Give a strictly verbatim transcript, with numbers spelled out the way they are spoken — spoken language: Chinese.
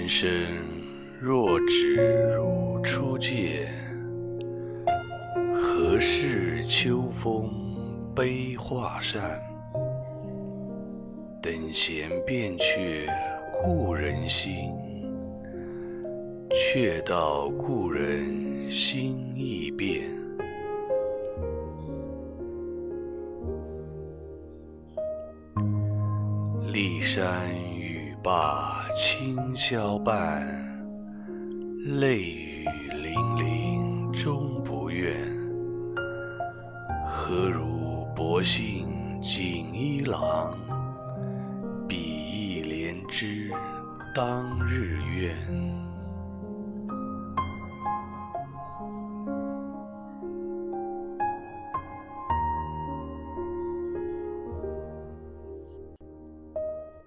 人生若只如初见，何事秋风悲画扇？等闲变却故人心，却道故人心易变。骊山语罢清宵半，泪雨霖铃终不怨。何如薄幸锦衣郎，比翼连枝当日愿。